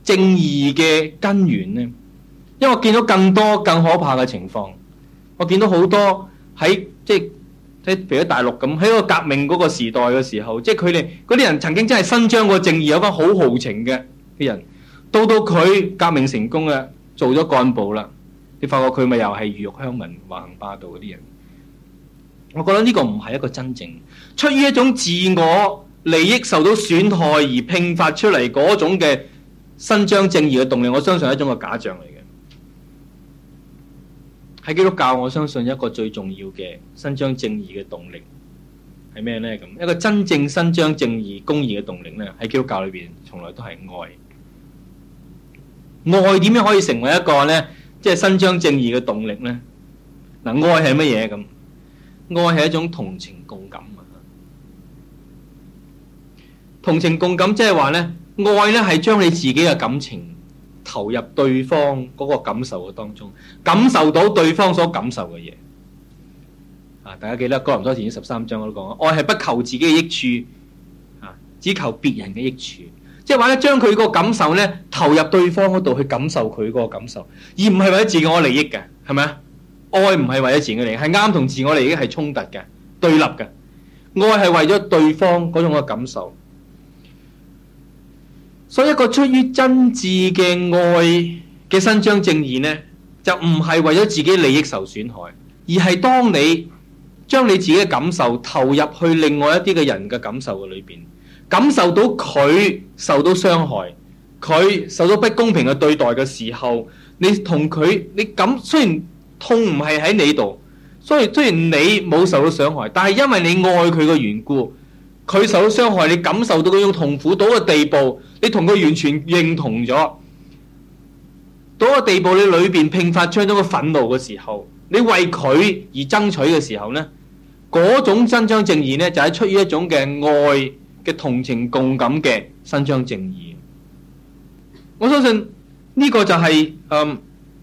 正義嘅根源呢？因為我見到更多更可怕嘅情況，我見到好多喺即係即係譬如喺大陸咁，喺個革命嗰個時代嘅時候，即係佢哋嗰啲人曾經真係伸張過正義，有班好豪情嘅嘅人，到到佢革命成功啦，做咗幹部啦，你發覺佢咪又係魚肉鄉民、橫行霸道嗰啲人。我覺得呢個唔係一個真正出於一種自我利益受到損害而迸發出嚟嗰種嘅伸張正義嘅動力，我相信係一種嘅假象嚟嘅。喺基督教，我相信一個最重要嘅伸張正義嘅動力係咩呢？咁一個真正伸張正義、公義嘅動力呢，喺基督教裏邊從來都係愛。愛點樣可以成為一個呢？即係伸張正義嘅動力呢？嗱，愛係乜嘢咁？愛係一種同情共感啊！同情共感即係話呢，愛呢係將你自己嘅感情投入對方嗰個感受嘅當中，感受到對方所感受嘅嘢。啊，大家記得哥林多前書十三章我都講，愛係不求自己嘅益處，啊，只求別人嘅益處。即係話咧，將佢個感受呢投入對方嗰度去感受佢嗰個感受，而唔係為咗自我利益嘅，係咪啊？愛唔係為咗自我利益，係啱同自我利益係衝突嘅、對立嘅。愛係為咗對方嗰種嘅感受。所以一個出於真摯嘅愛嘅伸張正義呢，就唔係為咗自己利益受損害，而係當你將你自己嘅感受投入去另外一啲嘅人嘅感受嘅裏邊，感受到佢受到傷害，佢受到不公平嘅對待嘅時候，你同佢你感雖然痛唔係喺你度，所以雖然你冇受到傷害，但係因為你愛佢嘅緣故，佢受到傷害，你感受到嗰種痛苦到個地步，你同佢完全認同咗，到個地步你裏邊迸發出咗個憤怒嘅時候，你為佢而爭取嘅時候呢，嗰種伸張正義呢，就係出於一種嘅愛嘅同情共感嘅伸張正義。我相信呢個就係、是、嗯。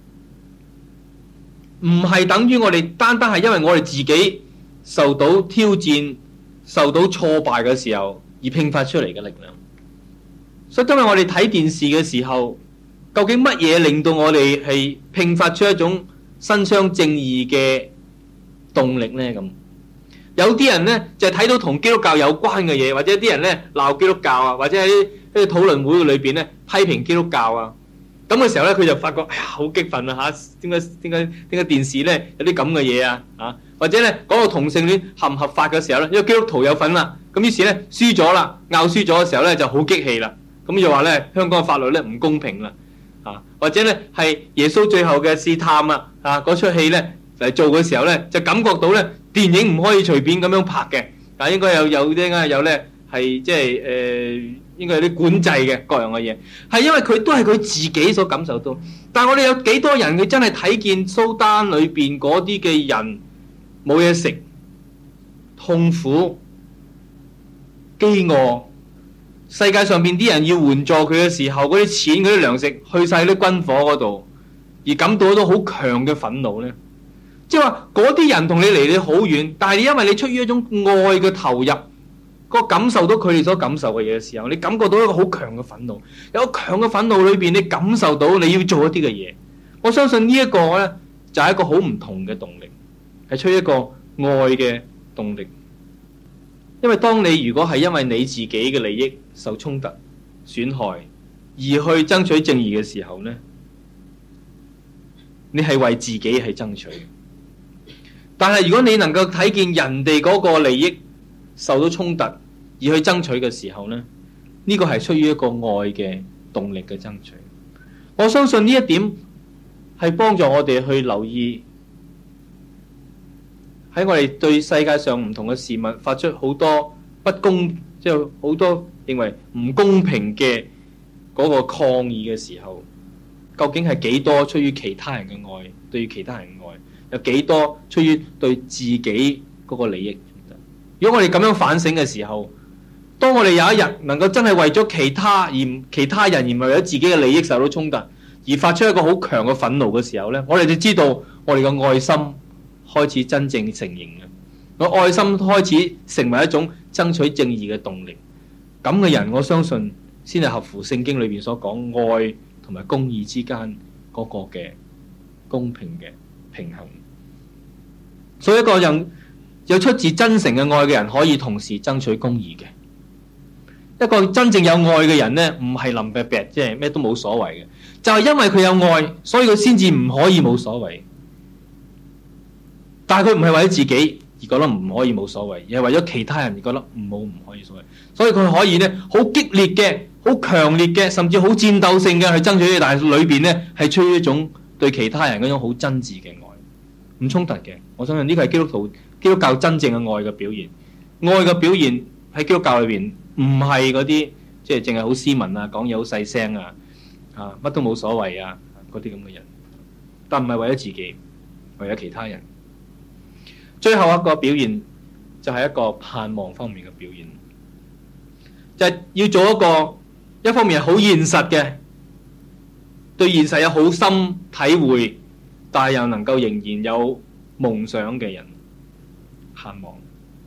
唔係等於我哋單單係因為我哋自己受到挑戰、受到挫敗嘅時候而迸發出嚟嘅力量。所以今日我哋睇電視嘅時候，究竟乜嘢令到我哋係迸發出一種伸張正義嘅動力呢？咁有啲人呢，就係、是、睇到同基督教有關嘅嘢，或者啲人呢鬧基督教啊，或者喺啲討論會裏邊呢批評基督教啊。咁嘅時候咧，佢就發覺，哎呀，好激憤啊！嚇，點解點解點解電視咧有啲咁嘅嘢啊？啊，或者咧講到同性戀合唔合法嘅時候咧，因為基督徒有份啦，咁於是咧輸咗啦，拗輸咗嘅時候咧就好激氣啦。咁就話咧香港嘅法律咧唔公平啦，啊，或者咧係耶穌最後嘅試探啊，啊嗰出戲咧嚟做嘅時候咧，就感覺到咧電影唔可以隨便咁樣拍嘅，但應該有有啲啊有咧係即係誒。應該有啲管制嘅各樣嘅嘢，係因為佢都係佢自己所感受到。但係我哋有幾多人佢真係睇見蘇丹裏邊嗰啲嘅人冇嘢食、痛苦、飢餓，世界上邊啲人要援助佢嘅時候，嗰啲錢、嗰啲糧食去晒啲軍火嗰度，而感到到好強嘅憤怒呢？即係話嗰啲人同你離你好遠，但係因為你出於一種愛嘅投入。個感受到佢哋所感受嘅嘢嘅時候，你感覺到一個好強嘅憤怒，有個強嘅憤怒裏邊，你感受到你要做一啲嘅嘢。我相信呢一個呢，就係一個好唔同嘅動力，係出於一個愛嘅動力。因為當你如果係因為你自己嘅利益受衝突、損害而去爭取正義嘅時候呢，你係為自己係爭取。但係如果你能夠睇見人哋嗰個利益受到衝突而去爭取嘅時候呢，呢個係出於一個愛嘅動力嘅爭取。我相信呢一點係幫助我哋去留意喺我哋對世界上唔同嘅事物發出好多不公，即係好多認為唔公平嘅嗰個抗議嘅時候，究竟係幾多出於其他人嘅愛，對於其他人嘅愛，有幾多出於對自己嗰個利益？如果我哋咁樣反省嘅時候，當我哋有一日能夠真係為咗其他而其他人而唔係為咗自己嘅利益受到衝突而發出一個好強嘅憤怒嘅時候呢，我哋就知道我哋嘅愛心開始真正成形啦。我愛心開始成為一種爭取正義嘅動力。咁嘅人，我相信先係合乎聖經裏邊所講愛同埋公義之間嗰個嘅公平嘅平衡。所以一個人有出自真誠嘅愛嘅人，可以同時爭取公義嘅。一個真正有愛嘅人呢，唔係林伯伯，即係咩都冇所謂嘅，就係因為佢有愛，所以佢先至唔可以冇所謂。但係佢唔係為咗自己而覺得唔可以冇所謂，而係為咗其他人而覺得唔好唔可以所謂。所以佢可以呢，好激烈嘅、好強烈嘅，甚至好戰鬥性嘅去爭取，但係裏邊呢係出於一種對其他人嗰種好真摯嘅愛，唔衝突嘅。我相信呢個係基督徒、基督教真正嘅愛嘅表現。愛嘅表現喺基督教裏邊唔係嗰啲即係淨係好斯文啊、講嘢好細聲啊、啊乜都冇所謂啊嗰啲咁嘅人，但唔係為咗自己，為咗其他人。最後一個表現就係一個盼望方面嘅表現，就係要做一個一方面係好現實嘅，對現實有好深體會，但係又能夠仍然有夢想嘅人。盼望。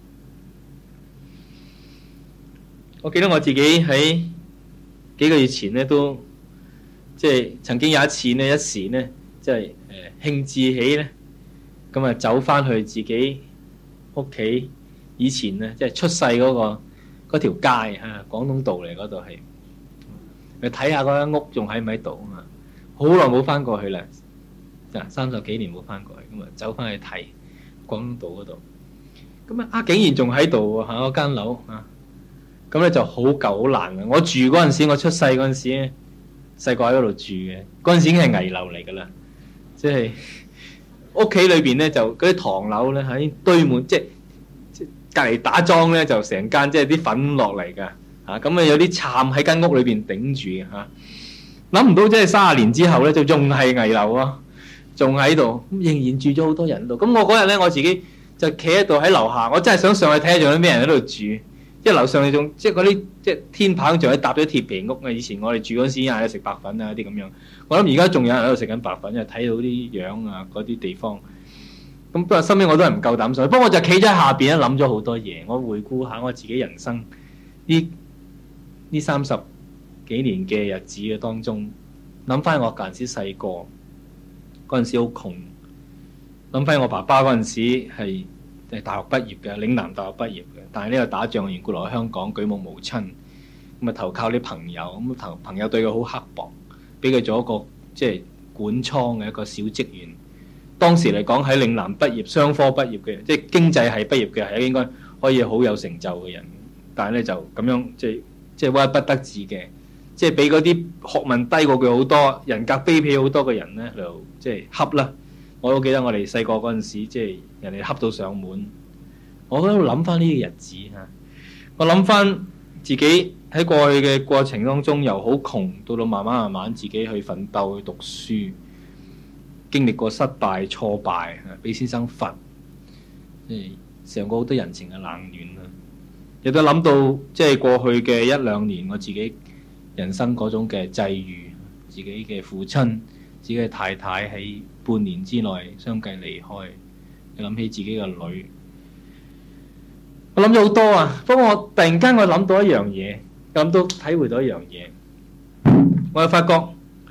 我記得我自己喺幾個月前呢，都即係曾經有一次呢，一時呢，即係誒興致起呢。咁啊，走翻去自己屋企以前咧，即係出世嗰個嗰條街啊，廣東道嚟嗰度係，去睇下嗰間屋仲喺唔喺度啊嘛，好耐冇翻過去啦，啊三十幾年冇翻過去，咁啊走翻去睇廣東道嗰度，咁啊啊竟然仲喺度喎嚇嗰間樓啊，咁咧就好舊好爛嘅。我住嗰陣時，我出世嗰陣時咧，細個喺嗰度住嘅，嗰陣時已經係危樓嚟㗎啦，即係。屋企裏邊咧就嗰啲唐樓咧喺堆滿，即係即係隔離打樁咧就成間即係啲粉落嚟㗎嚇，咁啊有啲杉喺間屋裏邊頂住嘅嚇，諗唔到即係三十年之後咧就仲係危樓啊，仲喺度，仍然住咗好多人度。咁我嗰日咧我自己就企喺度喺樓下，我真係想上去睇下仲有咩人喺度住，即係樓上你仲即係嗰啲即係天棚仲喺搭咗鐵皮屋啊！以前我哋住嗰時嗌你食白粉啊啲咁樣。我諗而家仲有人喺度食緊白粉，因為睇到啲樣啊嗰啲地方。咁不過身邊我都係唔夠膽上去。不過我就企咗喺下邊咧，諗咗好多嘢。我回顧下我自己人生呢呢三十幾年嘅日子嘅當中，諗翻我嗰陣時細個，嗰陣時好窮。諗翻我爸爸嗰陣時係係大學畢業嘅，嶺南大學畢業嘅。但係呢個打仗嘅緣故，落去香港舉目無親，咁啊投靠啲朋友，咁朋朋友對佢好刻薄。俾佢做一個即係管倉嘅一個小職員。當時嚟講喺嶺南畢業、商科畢業嘅，即係經濟系畢業嘅，係應該可以好有成就嘅人。但係咧就咁樣即係即係屈不得志嘅，即係俾嗰啲學問低過佢好多、人格卑鄙好多嘅人咧，就即係恰啦。我都記得我哋細個嗰陣時，即係人哋恰到上門。我喺度諗翻呢啲日子嚇，我諗翻自己。喺過去嘅過程當中，由好窮到到慢慢慢慢自己去奮鬥去讀書，經歷過失敗挫敗，俾先生罰，即係嘗過好多人情嘅冷暖啦。亦都諗到即係過去嘅一兩年，我自己人生嗰種嘅際遇，自己嘅父親、自己嘅太太喺半年之內相繼離開，又諗起自己嘅女，我諗咗好多啊。不過我突然間我諗到一樣嘢。咁都體會到一樣嘢，我就發覺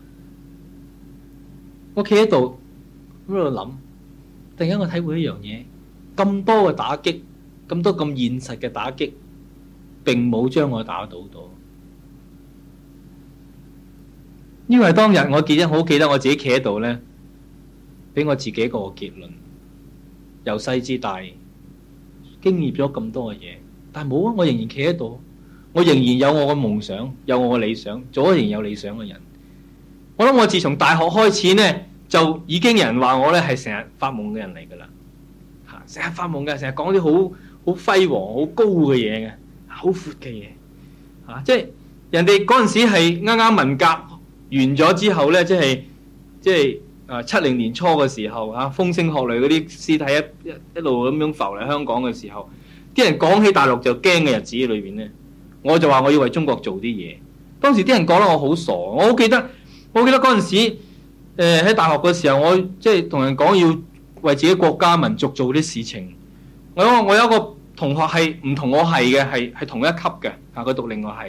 我企喺度喺度諗，突然間我體會一樣嘢，咁多嘅打擊，咁多咁現實嘅打擊，並冇將我打倒到。因為當日我記得好記得我自己企喺度咧，俾我自己一個結論，由細至大經歷咗咁多嘅嘢，但係冇啊，我仍然企喺度。我仍然有我嘅夢想，有我嘅理想，做一個仍然有理想嘅人。我諗我自從大學開始呢，就已經有人話我呢係成日發夢嘅人嚟㗎啦。嚇，成日發夢嘅，成日講啲好好輝煌、好高嘅嘢嘅，好闊嘅嘢。嚇，即係人哋嗰陣時係啱啱文革完咗之後呢，即係即係啊七零年初嘅時候嚇，風聲鶴唳嗰啲屍體一一一路咁樣浮嚟香港嘅時候，啲人講起大陸就驚嘅日子裏邊呢。我就話我要為中國做啲嘢。當時啲人講得我好傻，我好記得，我記得嗰陣時，誒、呃、喺大學嘅時候，我即係同人講要為自己國家民族做啲事情。我有我有一個同學係唔同我係嘅，係係同一級嘅，嚇佢讀另外係嘅。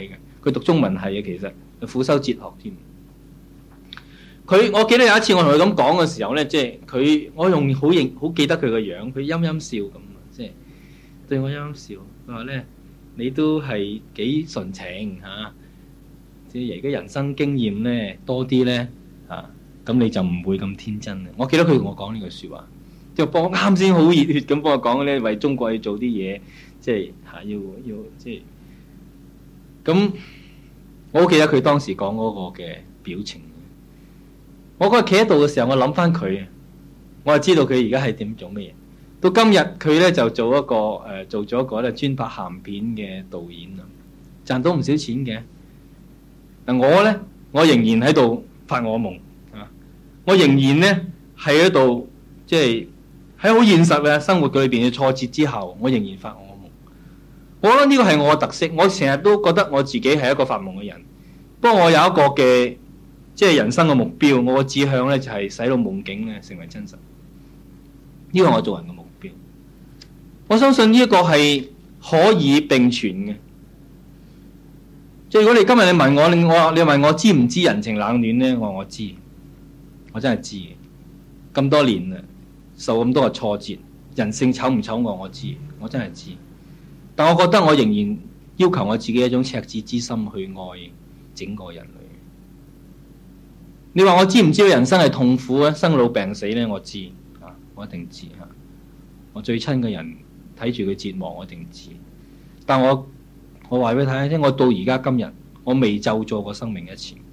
佢讀中文系嘅，其實輔修哲學添。佢我記得有一次我同佢咁講嘅時候咧，即係佢我用好認好記得佢個樣，佢陰陰笑咁，即係對我陰陰笑。佢話咧，你都係幾純情嚇，即係而家人生經驗咧多啲咧嚇，咁你就唔會咁天真。我記得佢同我講呢句説話，即係幫我啱先好熱血咁幫我講咧，為中國要做啲嘢，即係嚇要要即係咁。我好記得佢當時講嗰個嘅表情。我嗰日企喺度嘅時候，我諗翻佢，我就知道佢而家係點做乜嘢。到今日佢咧就做一個誒、呃，做咗一個咧專拍鹹片嘅導演啊，賺到唔少錢嘅。嗱我咧，我仍然喺度發我夢啊！我仍然咧係喺度，即係喺好現實嘅生活裏邊嘅挫折之後，我仍然發我夢。我覺得呢個係我嘅特色。我成日都覺得我自己係一個發夢嘅人，不過我有一個嘅。即係人生嘅目標，我嘅志向咧就係使到夢境咧成為真實。呢個係我做人嘅目標。我相信呢一個係可以並存嘅。即係如果你今日你問我，你我你問我知唔知人情冷暖咧？我話我知，我真係知。咁多年啦，受咁多嘅挫折，人性醜唔醜我我知，我真係知。但我覺得我仍然要求我自己一種赤子之心去愛整個人類。你話我知唔知道人生係痛苦啊？生老病死咧，我知啊，我一定知嚇。我最親嘅人睇住佢折磨，我一定知。但我我話俾你睇，我到而家今日，我未咒詛過生命一次。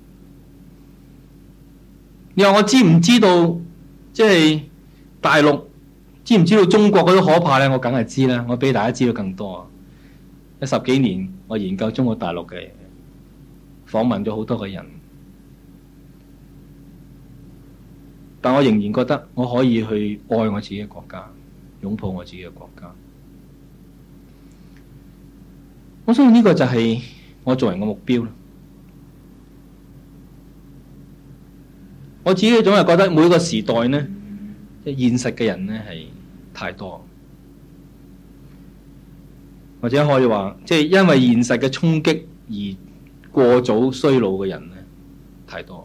你話我知唔知道？即係大陸知唔知道中國嗰啲可怕咧？我梗係知啦。我俾大家知道更多。呢十幾年我研究中國大陸嘅，訪問咗好多個人。但我仍然覺得我可以去愛我自己嘅國家，擁抱我自己嘅國家。我相信呢個就係我做人嘅目標。我自己總係覺得每個時代呢，即係現實嘅人呢係太多，或者可以話，即係因為現實嘅衝擊而過早衰老嘅人呢太多。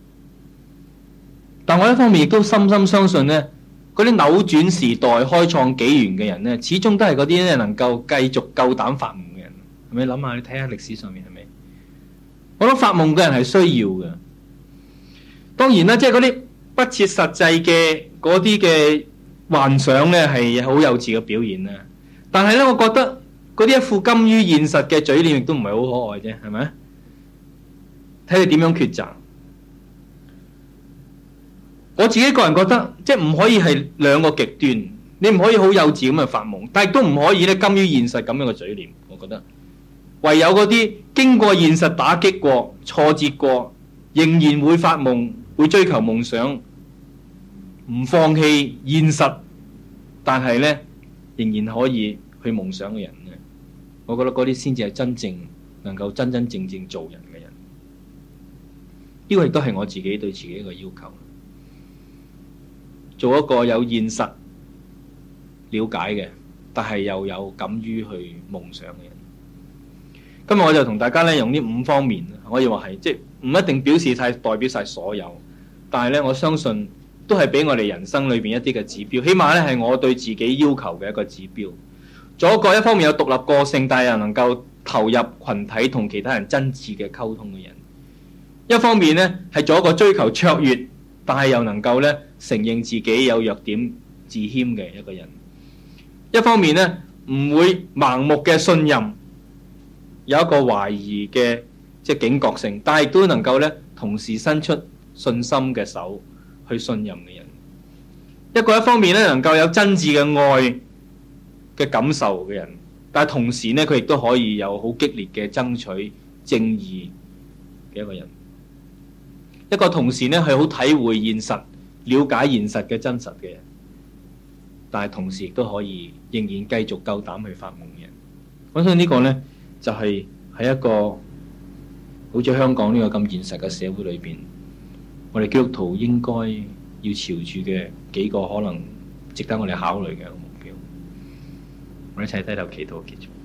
但我一方面亦都深深相信呢，嗰啲扭轉時代、開創紀元嘅人呢，始終都係嗰啲咧能夠繼續夠膽發夢嘅人。係咪諗下？你睇下歷史上面係咪？我諗發夢嘅人係需要嘅。當然啦，即係嗰啲不切實際嘅嗰啲嘅幻想呢，係好幼稚嘅表現啦。但係呢，我覺得嗰啲一副甘於現實嘅嘴臉亦都唔係好可愛啫，係咪？睇你點樣抉擇。我自己個人覺得，即係唔可以係兩個極端，你唔可以好幼稚咁去發夢，但係都唔可以咧甘於現實咁樣嘅嘴臉。我覺得唯有嗰啲經過現實打擊過、挫折過，仍然會發夢、會追求夢想、唔放棄現實，但係咧仍然可以去夢想嘅人咧，我覺得嗰啲先至係真正能夠真真正正做人嘅人。呢個亦都係我自己對自己一個要求。做一個有現實了解嘅，但係又有敢於去夢想嘅人。今日我就同大家咧用呢五方面，可以話係即係唔一定表示晒代表晒所有，但係咧我相信都係俾我哋人生裏邊一啲嘅指標，起碼咧係我對自己要求嘅一個指標。做一個一方面有獨立個性，但係又能夠投入群體同其他人真摯嘅溝通嘅人；一方面咧係做一個追求卓越，但係又能夠咧承認自己有弱點、自謙嘅一個人；一方面咧唔會盲目嘅信任，有一個懷疑嘅即係警覺性，但係亦都能夠咧同時伸出信心嘅手去信任嘅人。一個一方面咧能夠有真摯嘅愛嘅感受嘅人，但係同時咧佢亦都可以有好激烈嘅爭取正義嘅一個人。一個同時咧係好體會現實、了解現實嘅真實嘅人，但係同時亦都可以仍然繼續夠膽去發夢嘅人。我相信呢個呢，就係、是、喺一個好似香港呢個咁現實嘅社會裏邊，我哋基督徒應該要朝住嘅幾個可能值得我哋考慮嘅目標。我哋一齊低頭祈禱結束。